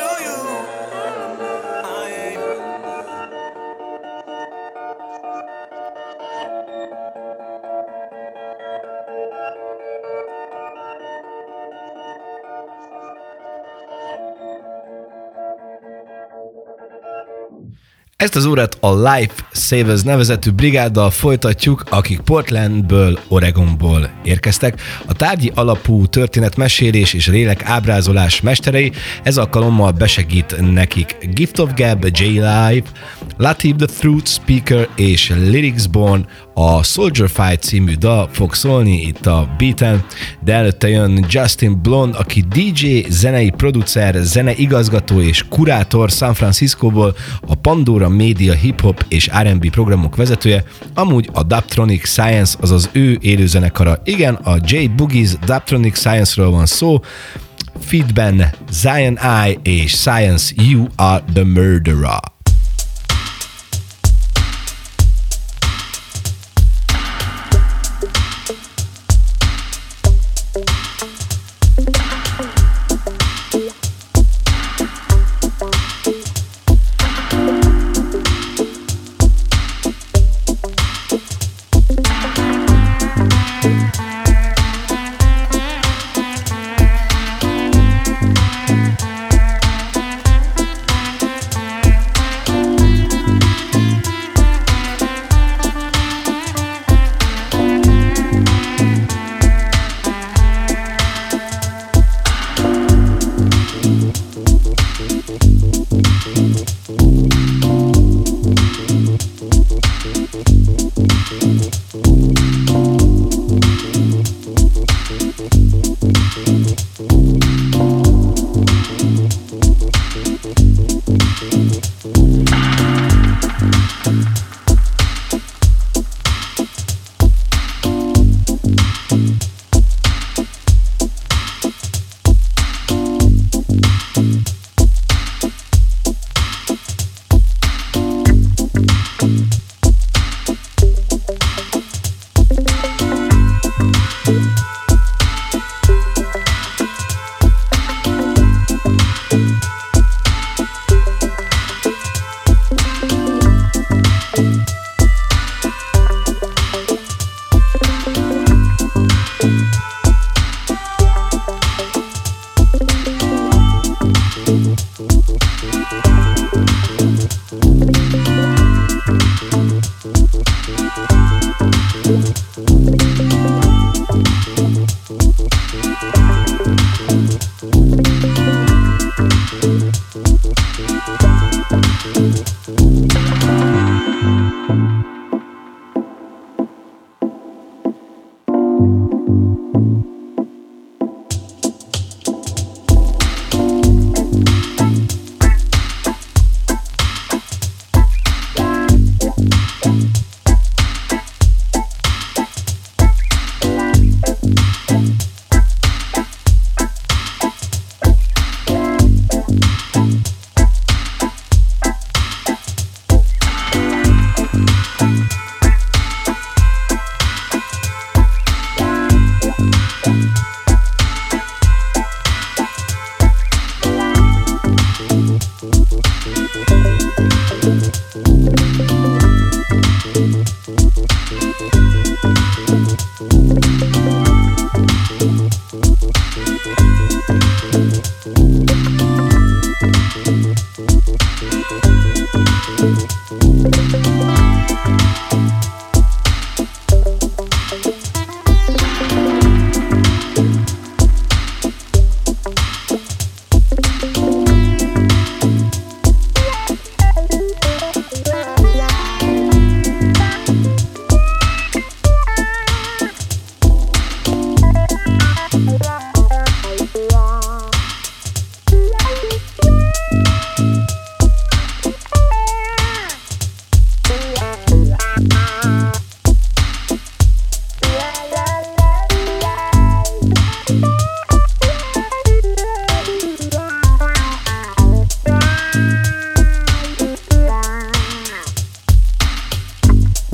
Ezt az órát a Life Savers nevezetű brigáddal folytatjuk, akik Portlandből, Oregonból érkeztek. A tárgyi alapú történetmesélés és lélek ábrázolás mesterei, ez alkalommal besegít nekik Gift of Gab, J-Live, Latif the Truth Speaker és Lyricsborn. A Soldier Fight című dal fog szólni itt a beaten, de előtte jön Justin Blonde, aki DJ, zenei producer, zeneigazgató és kurátor San Franciscóból, a Pandora Media hip-hop és R&B programok vezetője, amúgy a Dubtronic Science, azaz ő élőzenekara. Igen, a J Boogie's Dubtronic Science-ről van szó, featben Zion I és Science You Are The Murderer.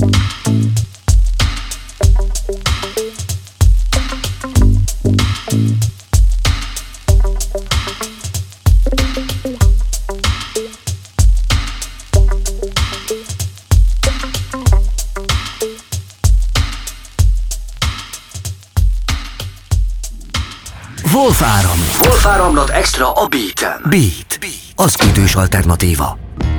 Wolf Áramlat Extra a Beaten. Beat. Az ütős alternatíva.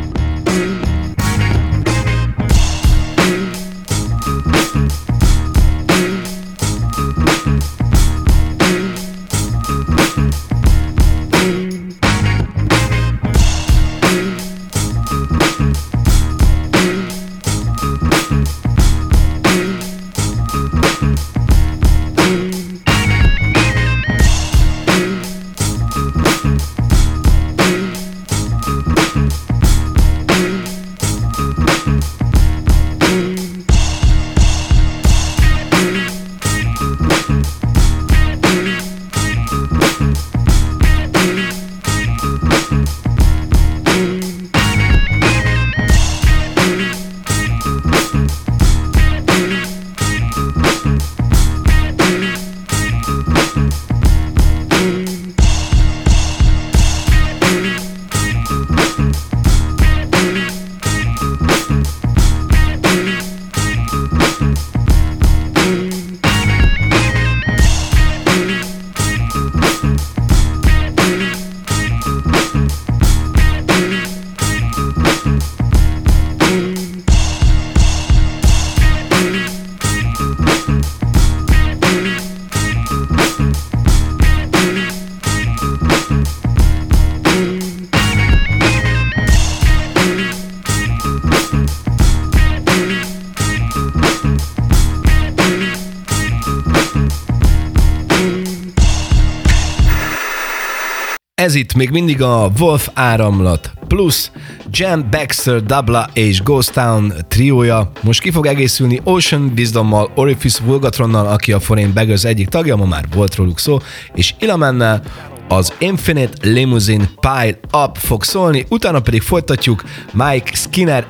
Ez itt még mindig a Wolf Áramlat plusz Jam, Baxter, Dabla és Ghost Town triója. Most ki fog egészülni Ocean Wisdommal, Orifice Vulgatronnal, aki a Foreign Beggars egyik tagja, ma már volt róluk szó, és Ilamennel az Infinite Limousine Pile Up fog szólni, utána pedig folytatjuk Mike Skinner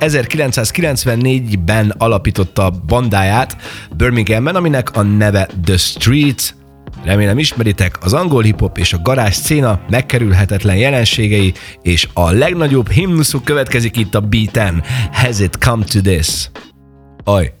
1994-ben alapította bandáját Birminghamben, aminek a neve The Streets. Remélem ismeritek, az angol hip-hop és a garázs széna megkerülhetetlen jelenségei, és a legnagyobb himnuszuk következik itt a Beaten. Has it come to this? Aj!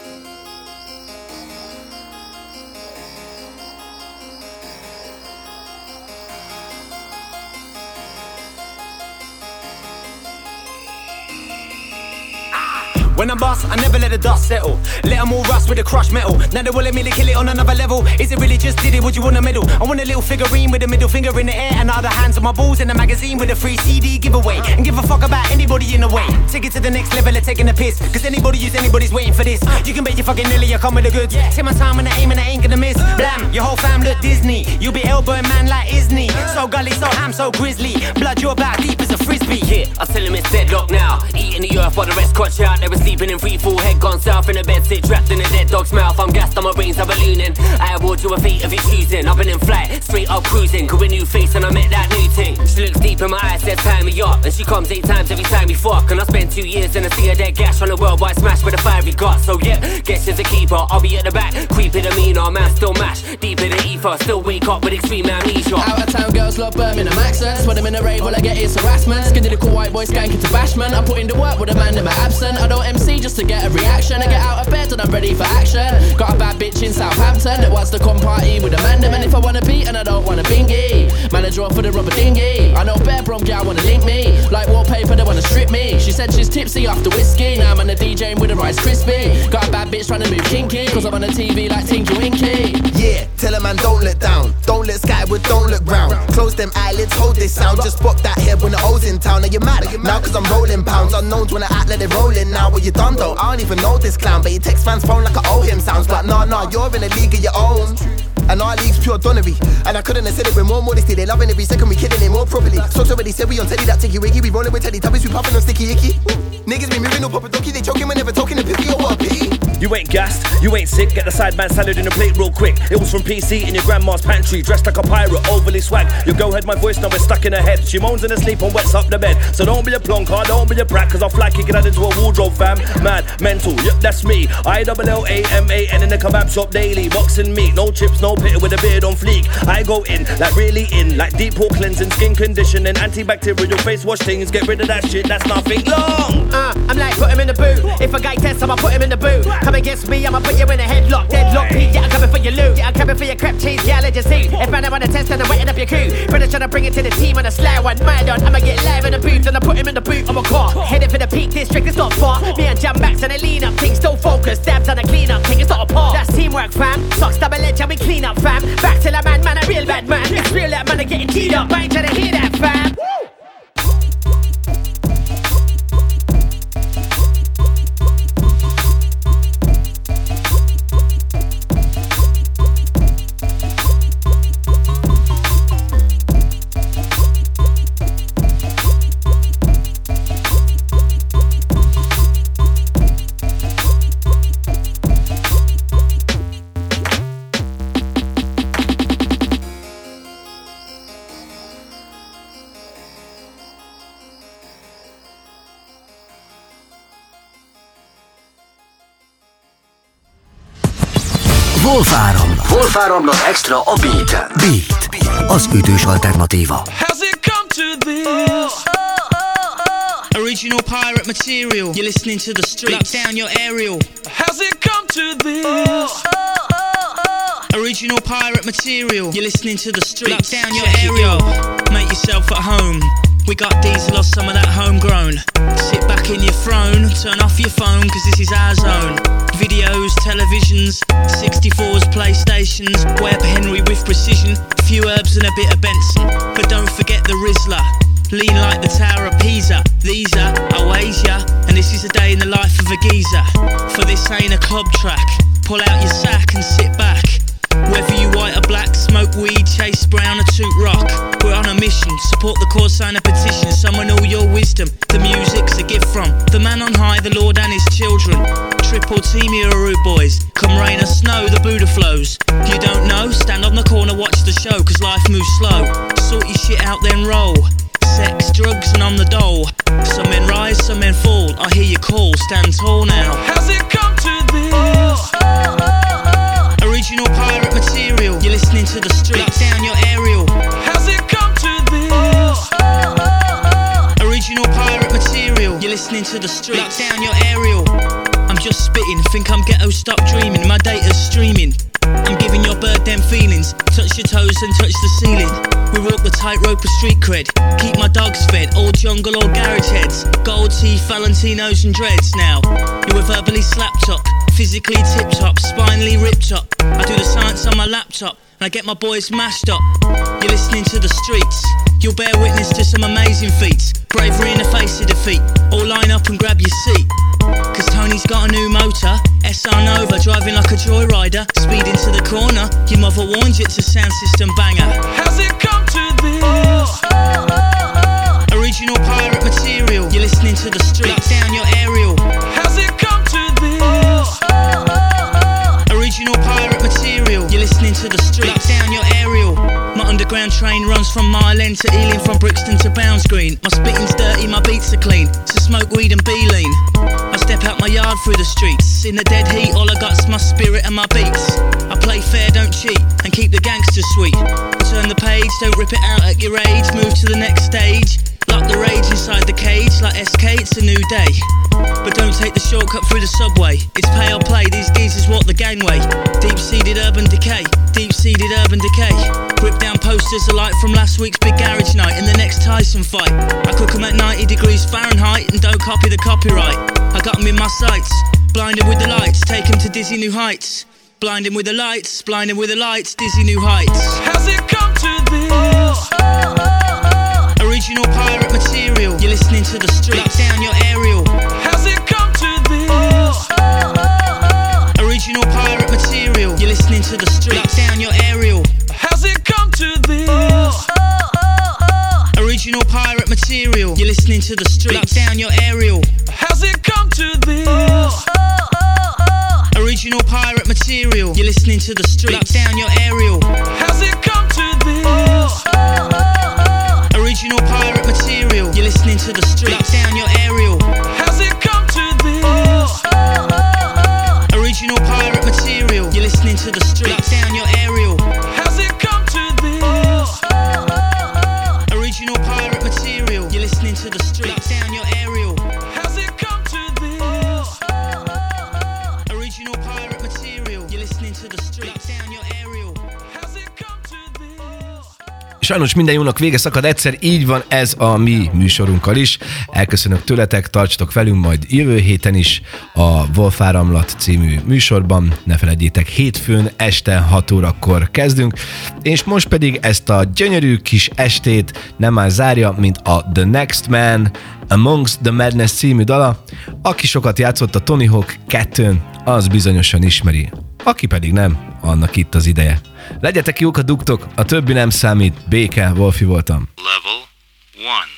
When I'm boss, I never let the dust settle. Let them all rust with the crushed metal. Now they willing me to kill it on another level. Is it really just did it? Would you want a medal? I want a little figurine with a middle finger in the air and other hands on my balls in the magazine with a free CD giveaway. And give a fuck about anybody in the way. Take it to the next level of taking a piss. Cause anybody use anybody's waiting for this. You can bet your fucking Lily, I come with the goods. Take my time and I aim and I ain't gonna miss. Blam, your whole fam look Disney. You be elbowing man like Isney. So gully, so ham, so grizzly. Blood, you're about deep as a frisbee. Yeah, I tell him it's deadlock now. Eating the earth while the rest crunch out. They were sleeping in free fall, head gone south in the bed, sit trapped in a dead dog's mouth. I'm gassed, my brains are ballooning. I award you a feat of your choosing. I've been in flight, straight up cruising. Got a new face and I met that new thing. She looks deep in my eyes, says tie me up. And she comes 8 times every time we fuck. And I spend 2 years in a sea of dead gash on a worldwide smash with a fiery gut. So yeah, guess she's a keeper. I'll be at the back, creepy demeanor. Man still mash, deep in the ether. Still wake up with extreme amnesia. Out of town girls love Birmingham accents. When I'm in a rave, all I get is harassment. Skinny little white boy skanking to bashment. I put in the work with a man in my absent. I don't MC just to get a reaction. I get out of bed and I'm ready for action. Got a bad bitch in Southampton that wants to come party with a man. And if I wanna beat and I don't wanna bingy, manager off for the rubber dinghy. I know bare brom gal wanna link me. Like wallpaper they wanna strip me. She said she's tipsy after whiskey. Now I'm on the DJing with a Rice Krispie. Got a bad bitch trying to move kinky. Cause I'm on the TV like Tinky Winky. Yeah, tell a man don't let down. Don't look skyward, don't look round. Close them eyelids, hold this sound. Just pop that head when the O's in town. Are you mad? Now cause I'm rolling pounds. Unknowns when I act let it roll in. Now what you done though? I don't even know this clown. But he text fans phone like I owe him. Sounds like nah, you're in a league of your own. And our league's pure donnery. And I couldn't have said it with more modesty. They loving every second, we killing it more properly. Socks already said we on Teddy, that ticky wiggy. We rolling with Teddy Tubbies, we puffing on sticky icky. Niggas be moving no proper donkey. They choking whenever talking to picky or what a pity. You ain't gassed, you ain't sick. Get the sideman salad in a plate real quick. It was from PC in your grandma's pantry. Dressed like a pirate, overly swag. Your girl heard my voice, now it's stuck in her head. She moans in her sleep and wets up the bed. So don't be a plonker, don't be a brat, cause I'll fly kicking that into a wardrobe, fam. Mad, mental, yep, that's me. ILLAMAN in the kebab shop daily. Boxing meat, no chips, no pit with a beard on fleek. I go in, like really in, like deep pore cleansing, skin conditioning, antibacterial face wash things. Get rid of that shit, that's nothing long. I'm like, put him in the boot. If a guy tests, I'ma put him in the boot. Come against me, I'ma put you in a headlock. Deadlock, Pete, yeah, I'm coming for your loot. Yeah, I'm coming for your crap cheese, yeah, let you see. If man, I wanna test, then I'm wetting up your crew. British trying to bring it to the team on a sly one. Mad on, I'ma get live in the booth, and I put him in the boot of a car. Headed for the Peak District, it's not far. Me and Jam Max and a lean up thing, still focused. Dabs on a clean up thing, it's not a part. That's teamwork, fam. Socks double edge, and we clean up, fam. Back to the man, a real bad man. It's real that man are getting teed up. I ain't trying to hear that, fam. Wolf Áramlat Extra a Beat-en. Beat, az ütős alternatíva. How's it come to this? Original pirate material. You're listening to the streets. Lock down your aerial. How's it come to this? Original pirate material. You're listening to the streets. Lock down your aerial. Make yourself at home. We got diesel or some of that homegrown. Sit back in your throne, turn off your phone, cause this is our zone. Videos, televisions, 64s, PlayStations, Webb Henry with precision, a few herbs and a bit of Benson. But don't forget the Rizzler, lean like the Tower of Pisa. These are Oasia, and this is a day in the life of a geezer. For this ain't a club track, pull out your sack and sit back. Whether you white or black, smoke weed, chase brown or toot rock, we're on a mission, support the cause, sign a petition, summon all your wisdom, the music's a gift from the man on high, the Lord and his children. Triple team here are rude boys, come rain or snow, the Buddha flows. You don't know? Stand on the corner, watch the show, cause life moves slow. Sort your shit out then roll. Sex, drugs and on the dole. Some men rise, some men fall, I hear you call, stand tall now. How's it come to this? Original pirate material. You're listening to the streets. Lock down your aerial. How's it come to this? Original pirate material. You're listening to the streets. Lock down your aerial. I'm just spitting. Think I'm ghetto, stop dreaming. My data's streaming. I'm giving your bird them feelings. Touch your toes and touch the ceiling. We walk the tightrope of street cred. Keep my dogs fed, all jungle or garage heads. Gold teeth, Valentinos and dreads now. You were verbally slapped up, physically tip-top, spinally ripped up. I do the science on my laptop, and I get my boys mashed up. You're listening to the streets. You'll bear witness to some amazing feats. Bravery in the face of defeat. All line up and grab your seat. Cause Tony's got a new motor, SR Nova, driving like a joyrider. Speed into the corner, your mother warned you it's a sound system banger. How's it come to this? Original pirate material. You're listening to the streets. Lock down your aerial. How's it come to this? Original pirate material. You're listening to the streets. Lock down your aerial. My underground train runs from Mile End to Ealing, from Brixton to Bounds Green. My spitting's dirty, my beats are clean, so smoke weed and be lean. I step out my yard through the streets. In the dead heat, all I got's my spirit and my beats. I play fair, don't cheat, and keep the gangsters sweet. Turn the page, don't rip it out at your age. Move to the next stage. Lock the rage inside the cage. Like SK, it's a new day. But don't take the shortcut through the subway. It's pay or play, these geezers walk the gangway. Deep-seated urban decay. Deep-seated urban decay. Rip down posters alike from last week's big garage night and the next Tyson fight. I cook them at 90 degrees Fahrenheit and don't copy the copyright. I got them in my sights, blinded with the lights, take them to dizzy new heights. Blinding with the lights, blinding with the lights, dizzy new heights. How's it come to this? Original pirate material. You're listening to the streets. Lock down your aerial. How's it come to this? Original pirate material. You're listening to the streets. Lock down your aerial. How's it come to this? Original pirate material. You're listening to the streets. Lock down your aerial. How's it come to this? material. You're listening to the streets. Lock down your aerial. How's it come to this? Original pirate material. You're listening to the streets. Lock down your aerial. How's it come to this? Original pirate material. You're listening to the streets. Lock down your aerial. How's it come to this? Original pirate material. You're listening to the streets. Lock down your aerial. How's it come to this? Original pirate material. You're listening to the streets. Lock down your aerial. How's it come to this? Sajnos minden jónak vége szakad egyszer, így van ez a mi műsorunkkal is. Elköszönök tőletek, tartsatok velünk majd jövő héten is a Wolfáramlat című műsorban. Ne felejtjétek, hétfőn este 6 órakor kezdünk, és most pedig ezt a gyönyörű kis estét nem más zárja, mint a The Next Man, Amongst the Madness című dala. Aki sokat játszott a Tony Hawk 2-n, az bizonyosan ismeri. Aki pedig nem, annak itt az ideje. Legyetek jók a dugtok, a többi nem számít. Béke, Wolfi voltam. Level 1.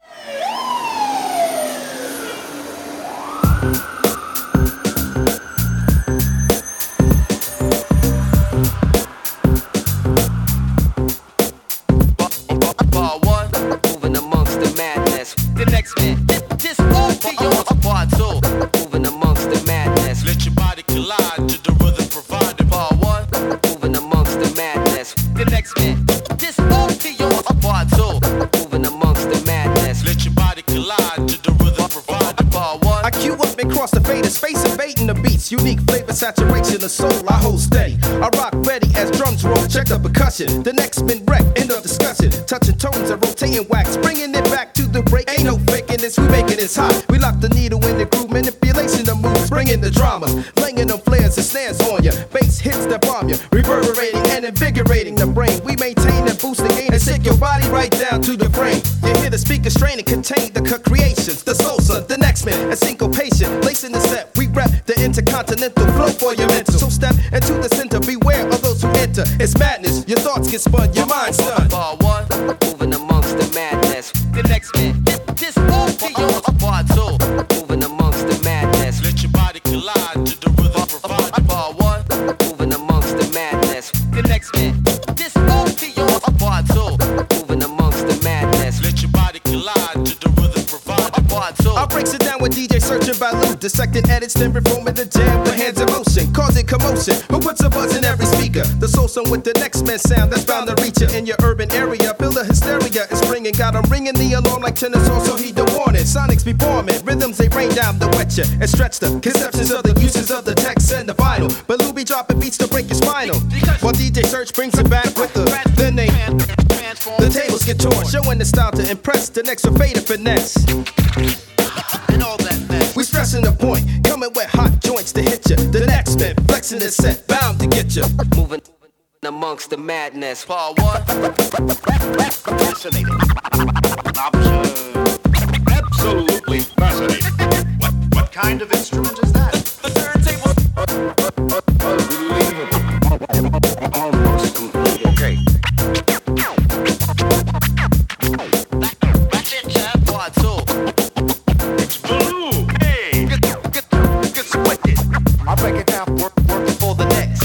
Moving amongst the madness. The next man, this all to yours. Part 2, moving amongst the madness. Let your body collide to the rhythm provided. Part 1, moving amongst the madness. The next man, this all to yours. Part 2, moving amongst the madness. Let your body collide to the rhythm provided. Part 1, I cue up and cross the fader, space invading the beats. Unique flavor, saturation of soul, I hold steady. I rock ready as drums roll, check the percussion. The next man wreck, end of discussion. Touching tones and rotating wax, bringing it back to the break. Ain't no faking this, we making this hot. We lock the needle in the groove, manipulation of moves, bringing the dramas. Laying them flares and snares on ya. Bass hits that bomb ya, reverberating and invigorating the brain. We maintain and boost the gain and shake your body right down to the brain. You hear the speaker straining, contain the creations, the salsa, the next man, and syncopation. Lacing the set, we rep the intercontinental flow for your mental. So step into the center, beware of those who enter. It's madness, your thoughts get spun, your mind's done. Part 1, moving amongst the madness. The next man, this all to yours. Part 2, moving amongst the madness. Let your body collide to the rhythm provided. Part 1, moving amongst the madness. The next man, this all to yours. Part 2, moving amongst the madness. Let your body collide to the rhythm provided. Part 2, I breaks it down with DJ searching by loop. Dissecting edits, then reforming the jam with hands in motion, causing commotion. Who puts a buzz in every speaker? The soul song with the next man sound that's bound to reach you in your urban area. Feel the hysteria is ringing, got 'em ringing the alarm like tennis. Also heed the warning. Sonics be forming, rhythms they rain down to wet you and stretch the conceptions of the uses of the text and the vinyl. But Lou be dropping beats to break your spinal, while DJ Search brings it back with the name. The tables get torn, showing the style to impress. The next will fade and finesse. and all that mess. We stressing the point, coming with hot joints to hit ya. The next man, flexing the set, bound to get ya. Moving amongst the madness. Part 1, Fascinating. Absolutely fascinating. What kind of instrument is that? the turntable. Almost complete. Okay. That's it, sir. Part 2. It's blue. Hey. Get sweated. I'll break it down. Work for the next.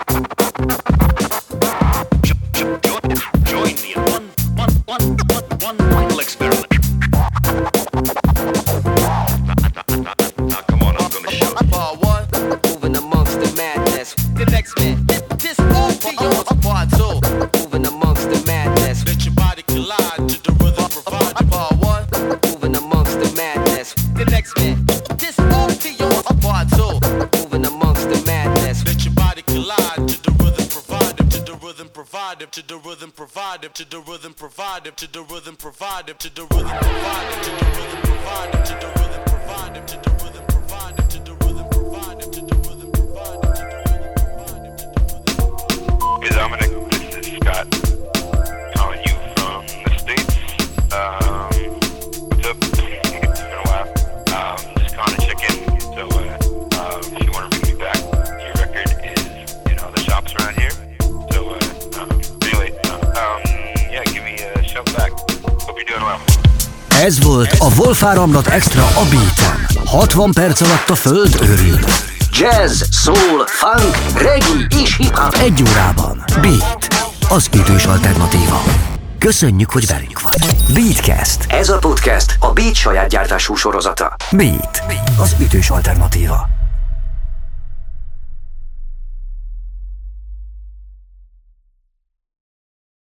Join me in one final experiment. Now, come on, I'm gonna show you. Part 1, moving amongst the madness. The next man, this all to yours. Part 2, moving amongst the madness. Let your body collide to the rhythm provided. Part 1, moving amongst the madness. The next man, this all to yours. Part 2, moving amongst the madness. Let your body collide to the rhythm provided. To the rhythm provided. To the rhythm provided. To the rhythm provided. To the rhythm provided. To the rhythm provided. To the rhythm provided. To the rhythm provided. To the rhythm provided. To the rhythm provided. To the rhythm provided. Hey Dominic, this is Scott calling you from the States. What's up? It's been a while. Just calling to check in. So if you want to bring me back, your record is in all the shops around here. So anyway, yeah, give me a shout back. Hope you're doing well. Ez volt a Wolfáramlat Extra a Beaten. 60 perc alatt a föld örül. jazz, soul, funk, reggae és hip-hop egy órában. Beat, az ütős alternatíva. Köszönjük, hogy velünk vagy. Beatcast. Ez a podcast a Beat saját gyártású sorozata. Beat, az ütős alternatíva.